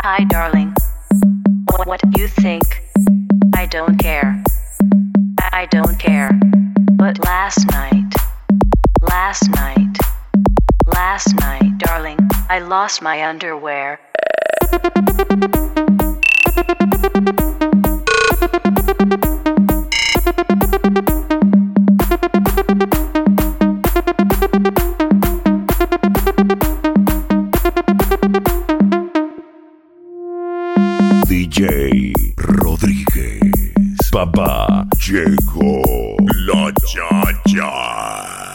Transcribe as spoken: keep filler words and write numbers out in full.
Hi, darling. What, what do you think? I don't care. I don't care. But last night, last night, last night, darling, I lost my underwear. D J Rodríguez, papá, llegó la cha-cha.